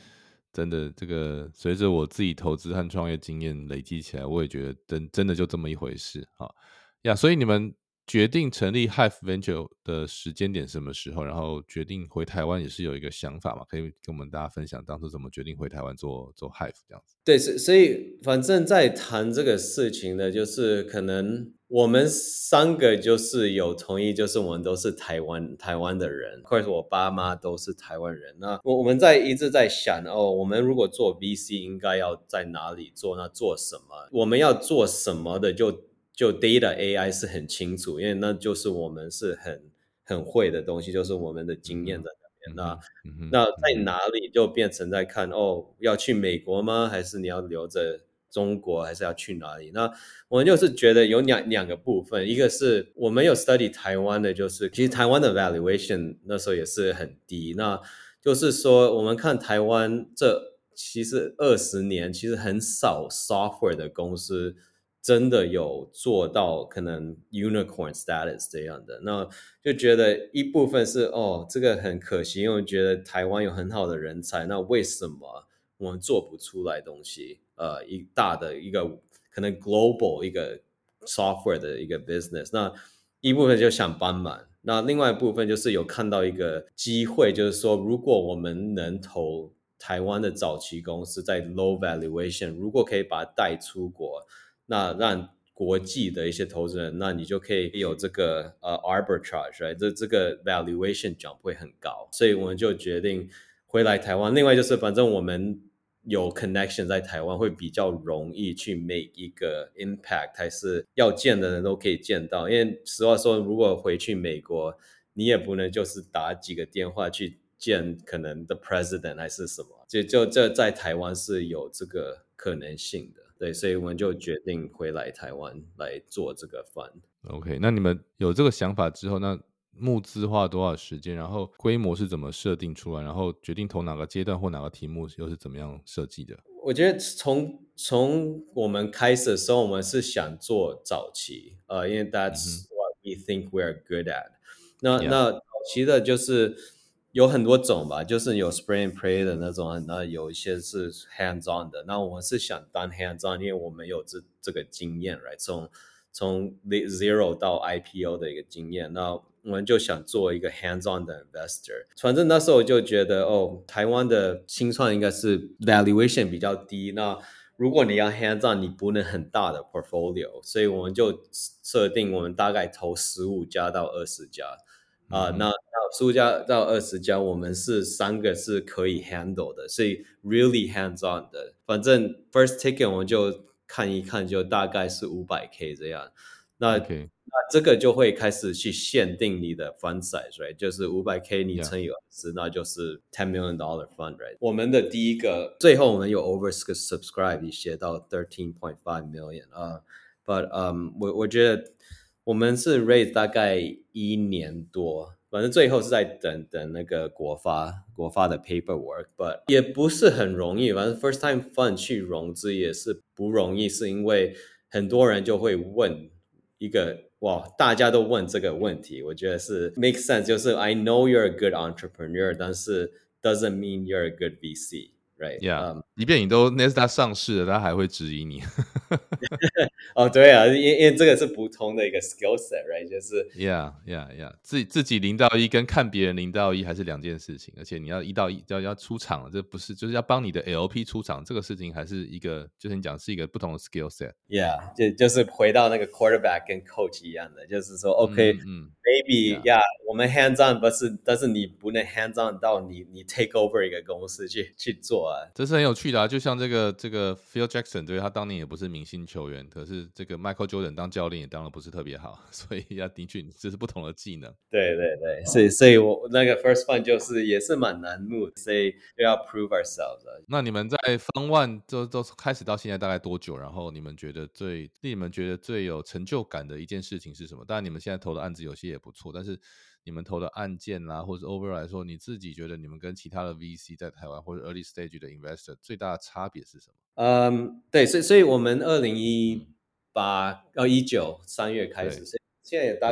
真的，这个随着我自己投资和创业经验累积起来，我也觉得真真的就这么一回事哈呀。所以你们决定成立 Hive Venture 的时间点什么时候？然后决定回台湾也是有一个想法嘛？可以跟我们大家分享当初怎么决定回台湾做做 Hive 这样子？ 对，所以反正在谈这个事情呢，就是可能我们三个就是有同意，就是我们都是台湾台湾的人，或者我爸妈都是台湾人。那我我们在一直在想哦，我们如果做 V C 应该要在哪里做？那做什么？我们要做什么的就就 Data A I 是很清楚，因为那就是我们是很很会的东西，就是我们的经验在那边。那那在哪里就变成在看哦，要去美国吗？还是你要留着中国？还是要去哪里？那我们就是觉得有两两个部分，一个是我们有 study 台湾的，就是其实台湾的 valuation 那时候也是很低，那就是说我们看台湾这其实二十年其实很少 software 的公司真的有做到可能 unicorn status 这样的，那就觉得一部分是哦，这个很可惜，因为我觉得台湾有很好的人才，那为什么我们做不出来东西？呃，一大的一个可能 global 一个 software 的一个 business， 那一部分就想帮忙，那另外一部分就是有看到一个机会，就是说如果我们能投台湾的早期公司在 low valuation， 如果可以把它带出国，那让国际的一些投资人，那你就可以有这个呃 arbitrage，right？ 这这个 valuation jump 会很高，所以我们就决定回来台湾。另外就是，反正我们有 connection 在台湾，会比较容易去 make 一个 impact， 还是要见的人都可以见到。因为实话说，如果回去美国，你也不能就是打几个电话去见可能 the president 还是什么，就就这在台湾是有这个可能性的。对，所以我们就决定回来台湾来做这个 fund。 OK， 那你们有这个想法之后，那募资花了多少时间？然后规模是怎么设定出来？然后决定投哪个阶段或哪个题目又是怎么样设计的？ 我觉得从从我们开始的时候，我们是想做早期，呃，因为 that's what we think we're good at。那 Yeah. 那早期的就是有很多种吧，就是有 spray and pray 的那种，那有一些是 hands on 的。那我们是想当 hands on，因为我们有这这个经验，right？从从 zero 到 I P O 的一个经验，那我们就想做一个 hands-on 的 investor。反正那时候就觉得，哦，台湾的新创应该是 valuation 比较低。那如果你要 hands-on，你不能很大的 portfolio， 所以我们就设定我们大概投十五家到二十家。啊、呃，那那十五家到二十家，我们是三个是可以 handle 的，所以 really hands-on 的。反正 first ticket 我们就看一看，就大概是五百 K 这样。那、 okay. 那这个就会开始去限定你的 fund size，right？ 就是五百 K 你乘以二十， 那就是 ten million dollar fund，right？ 我们的第一个，最后我们有 oversubscribe 写到 thirteen point five million 啊、uh, ，but um 我我觉得我们是 raise 大概一年多。反正最后是在等等那个国发国发的 paperwork，but 也不是很容易。反正 first time fund 去融资也是不容易，是因为很多人就会问一个哇，大家都问这个问题，我觉得是 make sense， 就是 I know you're a good entrepreneur， 但是 doesn't mean you're a good V C。Right， Yeah， 即便你都 Nasdaq 上市了，他还会质疑你。 哦，对啊，因因为这个是不同的一个 skill set，right？ 就是 Yeah Yeah Yeah， 自己自己零到一跟看别人零到一还是两件事情，而且你要一到一要要出场，这不是就是要帮你的 L P 出场，这个事情还是一个就是你讲是一个不同的 skill set。 Yeah， 就就是回到那个 quarterback 跟 coach 一样的，就是说 OK， 嗯嗯 maybe yeah， 我们 hands on， 但是但是你不能 hands on 到你你 take over 一个公司去去做啊， 这是很有趣的啊。就像这个这个 Phil Jackson， 对他当年也不是明星球员，可是这个 Michael Jordan 当教练也当的不是特别好，所以要的确这是不同的技能。 对对对，所以所以我那个 first fund 就是也是蛮难 move， 所以就要 prove ourselves 啊。 那你们在 Fund One 都都开始到现在大概多久？然后你们觉得最令你们觉得最有成就感的一件事情是什么？当然你们现在投的案子有些也不错，但是你们投的案件啦，或者 overall 来说，你自己觉得你们跟其他的 V C 在台湾或者 early stage 的 investor 最大的差别是什么？ 嗯，对，所以所以我们二零一八到一九三月开始，所以现在也大概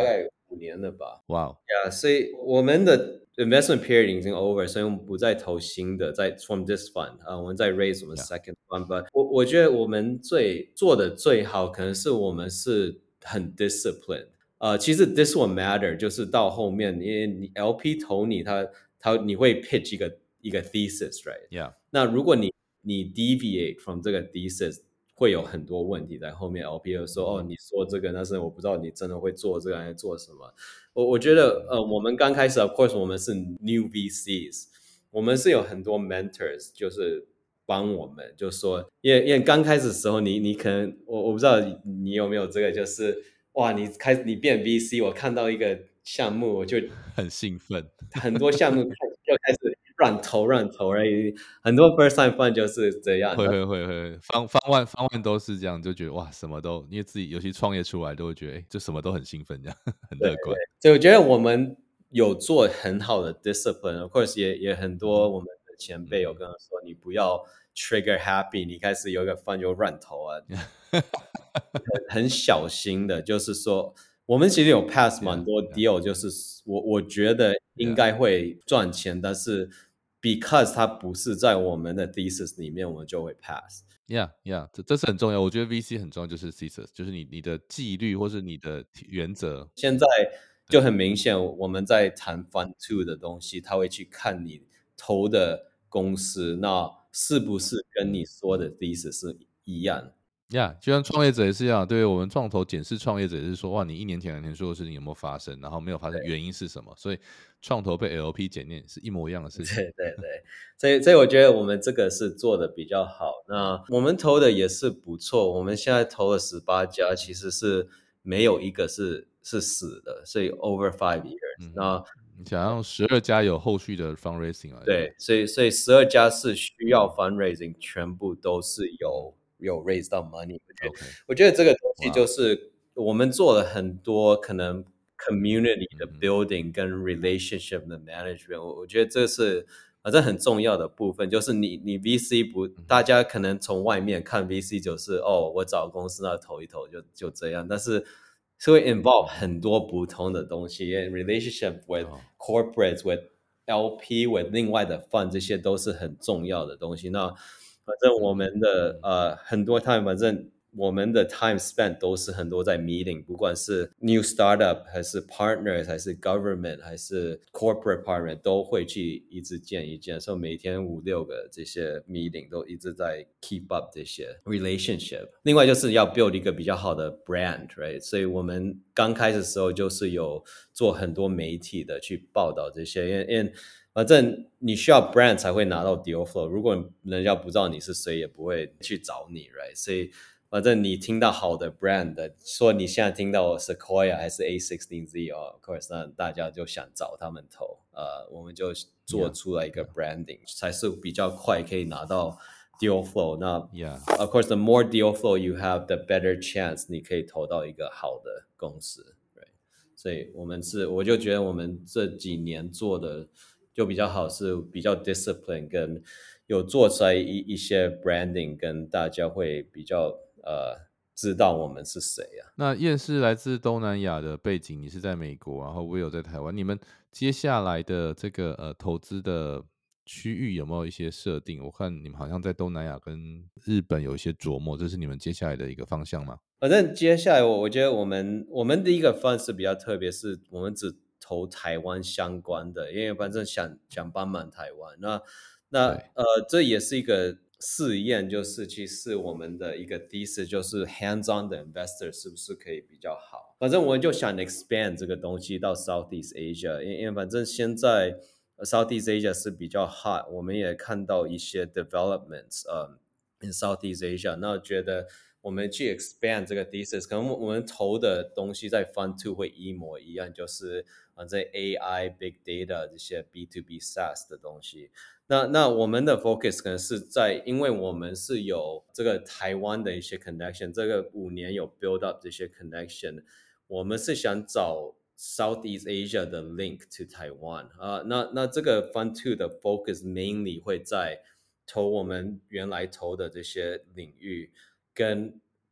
五年了吧。 哇哦， Yeah，所以我们的 investment period 已经 over，所以我们不再投新的，在 from this fund 啊，我们在 raise 我们 second fund。But 我我觉得我们最做的最好，可能是我们是很 disciplined。呃，其实 this will matter，就是到后面，因为你 L P 投你，他他你会 pitch 一个一个 thesis，right？ Yeah， 那如果你你 deviate from 这个 thesis，会有很多问题在后面。L P 就说、嗯、哦，你说这个，但是我不知道你真的会做这个还是做什么。我我觉得呃，我们刚开始 ，of course， 我们是 new V Cs， 我们是有很多 mentors， 就是帮我们，就说，因为因为刚开始的时候你，你你可能我我不知道你有没有这个，就是哇，你开始你变 V C， 我看到一个项目，我就很兴奋， 很多项目就开始乱投乱投而已。很多 first time fund 就是这样， 会会会会，方方万方万都是这样，就觉得哇，什么都，因为自己尤其创业出来，都会觉得哎，就什么都很兴奋，这样很乐观。 所以我觉得我们有做很好的 discipline，of course 也也很多我们的前辈有跟我说，你不要 trigger happy， 你开始有一个 fund 就乱投啊，很小心的，就是说。我们其实有 pass 蛮多 deal， 就是我我觉得应该会赚钱，但是 because 它不是在我们的 thesis 里面，我们就会 pass。 Yeah, yeah， 这这是很重要。我觉得 V C 很重要，就是 thesis， 就是你你的纪律或是你的原则。 现在就很明显，我们在谈 Fund Two 的东西，他会去看你投的公司，那是不是跟你说的 thesis 是一样。 呀、yeah, 就像创业者也是一样，对我们创投检视创业者也是说，哇，你一年前两年说的事情有没有发生，然后没有发生，原因是什么？所以创投被 L P 检验是一模一样的事情。 对对对，所以所以我觉得我们这个是做的比较好。那我们投的也是不错，我们现在投了十八家，其实是没有一个是是死的，所以 over five years、嗯。那你想要十二家有后续的 fundraising 啊？ 对，所以所以十二家是需要 fundraising， 全部都是有。有 raise 到 money， 我觉得、okay. 我觉得这个东西就是我们做了很多可能 community 的 building 跟 relationship 的 management， 我我觉得这是反正很重要的部分，就是你你 V C 不，大家可能从外面看 V C 就是哦，我找公司那投一投就就这样，但是是会 involve 很多不同的东西 ，relationship with corporates with L P with 另外的 fund， 这些都是很重要的东西。那反正我们的、嗯、呃很多 time， 反正我们的 time spent 都是很多在 meeting， 不管是 new startup 还是 partners 还是 government 还是 corporate partner 都会去一直见一见，所以每天五六个这些 meeting 都一直在 keep up 这些 relationship。另外就是要 build 一个比较好的 brand，right？ 所以我们刚开始的时候就是有做很多媒体的去报道这些，因为因为反正你需要 brand 才会拿到 deal flow， 如果人家不知道你是谁，也不会去找你 ，right？ 所以反正你听到好的 brand 的，说你现在听到 Sequoia 还是 A 十六 Z 哦 ，of course， 那大家就想找他们投，呃，我们就做出来一个 branding，、yeah. 才是比较快可以拿到 deal flow。那 yeah. of course，the more deal flow you have，the better chance 你可以投到一个好的公司 ，right？ 所以我们是，我就觉得我们这几年做的。就比较好，是比较 discipline， 跟有做出来一一些 branding， 跟大家会比较呃知道我们是谁啊。 那燕是来自东南亚的背景，你是在美国，然后我有在台湾。你们接下来的这个呃投资的区域有没有一些设定？我看你们好像在东南亚跟日本有一些琢磨，这是你们接下来的一个方向吗？ 反正接下来我我觉得我们我们的一个 fund 是比较特别，是我们只投台湾相关的，因为反正想想帮忙台湾。那那呃，这也是一个试验，就是其实我们的一个 thesis 就是 hands-on 的 investor 是不是可以比较好。反正我就想 expand 这个东西到 Southeast Asia， 因为因为反正现在 Southeast Asia 是比较 hot， 我们也看到一些 developments 呃、um, in Southeast Asia， 那我觉得我们去 expand 这个 thesis， 可能我们投的东西在 Fund Two 会一模一样，就是反正 A I、Big Data 这些 B to B SaaS 的东西。那那我们的 focus 可能是在，因为我们是有这个台湾的一些 connection， 这个五年有 build up 这些 connection， 我们是想找 Southeast Asia 的 link to Taiwan 啊、呃。那那这个 Fund Two 的 focus mainly 会在投我们原来投的这些领域。跟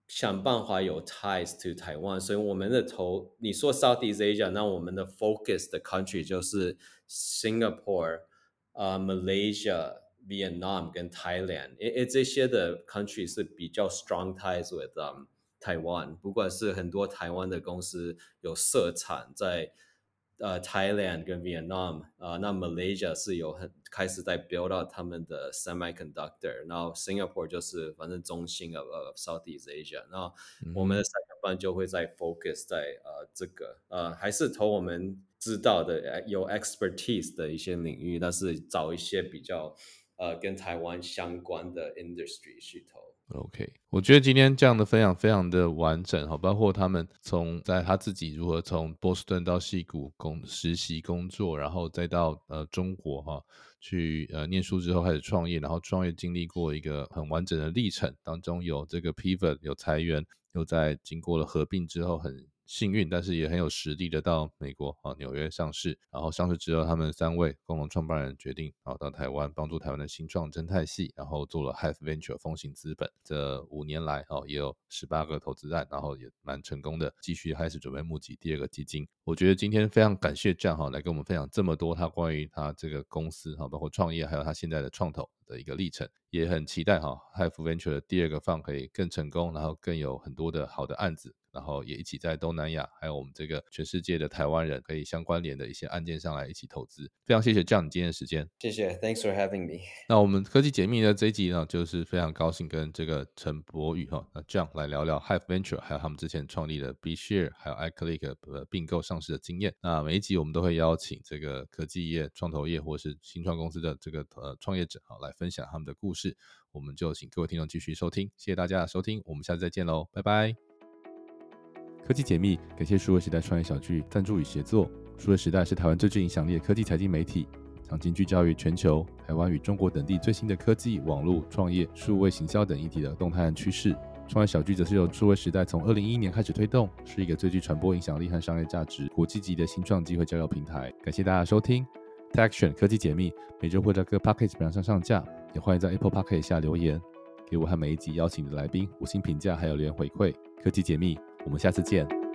想办法有 ties to 台湾，所以我们的投你说 Southeast Asia， 那我们的 focus 的 country 就是 Singapore、呃、Malaysia、Vietnam 跟 Thailand， 因为这些的 country 是比较 strong ties with、um, 台湾，不管是很多台湾的公司有设厂在呃 Thailand 跟 Vietnam， 呃那 Malaysia 是有很开始在 build out 他们的 semiconductor， 然后 Singapore 就是反正中心 of, of Southeast Asia， 然后我们的三个班就会在 focus 在呃这个呃还是投我们知道的有 expertise 的一些领域，但是找一些比较呃跟台湾相关的 industry 去投。 OK， 我觉得今天这样的分享非常的完整，包括他们从在他自己如何从波士顿到矽谷工实习工作，然后再到呃中国哈去呃念书之后开始创业，然后创业经历过一个很完整的历程，当中有这个 pivot 有裁员，又在经过了合并之后很幸运，但是也很有实力的到美国啊纽约上市，然后上市之后，他们三位共同创办人决定啊到台湾帮助台湾的新创生态系，然后做了 Hive Venture 风行资本，这五年来啊也有十八个投资案，然后也蛮成功的，继续开始准备募集第二个基金。我觉得今天非常感谢 John 哈来跟我们分享这么多他关于他这个公司哈包括创业还有他现在的创投的一个历程，也很期待哈 Hive Venture 的第二个 fund 可以更成功，然后更有很多的好的案子，然后也一起在东南亚还有我们这个全世界的台湾人可以相关联的一些案件上来一起投资。非常谢谢 John 你今天的时间。 谢谢 Thanks for having me。 那我们科技解密的这一集呢，就是非常高兴跟这个陈柏宇哈那 John 来聊聊 Hive Venture 还有他们之前创立的 BeShare 还有 iClick 并购上市的经验。那每一集我们都会邀请这个科技业创投业或是新创公司的这个呃创业者来分享他们的故事，我们就请各位听众继续收听，谢谢大家的收听，我们下次再见喽，拜拜。科技解密感谢数位时代创业小聚赞助与协作。数位时代是台湾最具影响力的科技财经媒体，长期聚焦于全球、台湾与中国等地最新的科技、网络、创业、数位行销等议题的动态和趋势。创业小聚则是由数位时代从二零一一年开始推动，是一个最具传播影响力和商业价值、国际级的新创机会交流平台。感谢大家的收听。TechSian 科技解密每周会在各 Podcast 平台上上架，也欢迎在 Apple Podcast 下留言，给我和每一集邀请的来宾五星评价，还有留言回馈。科技解密，我们下次见。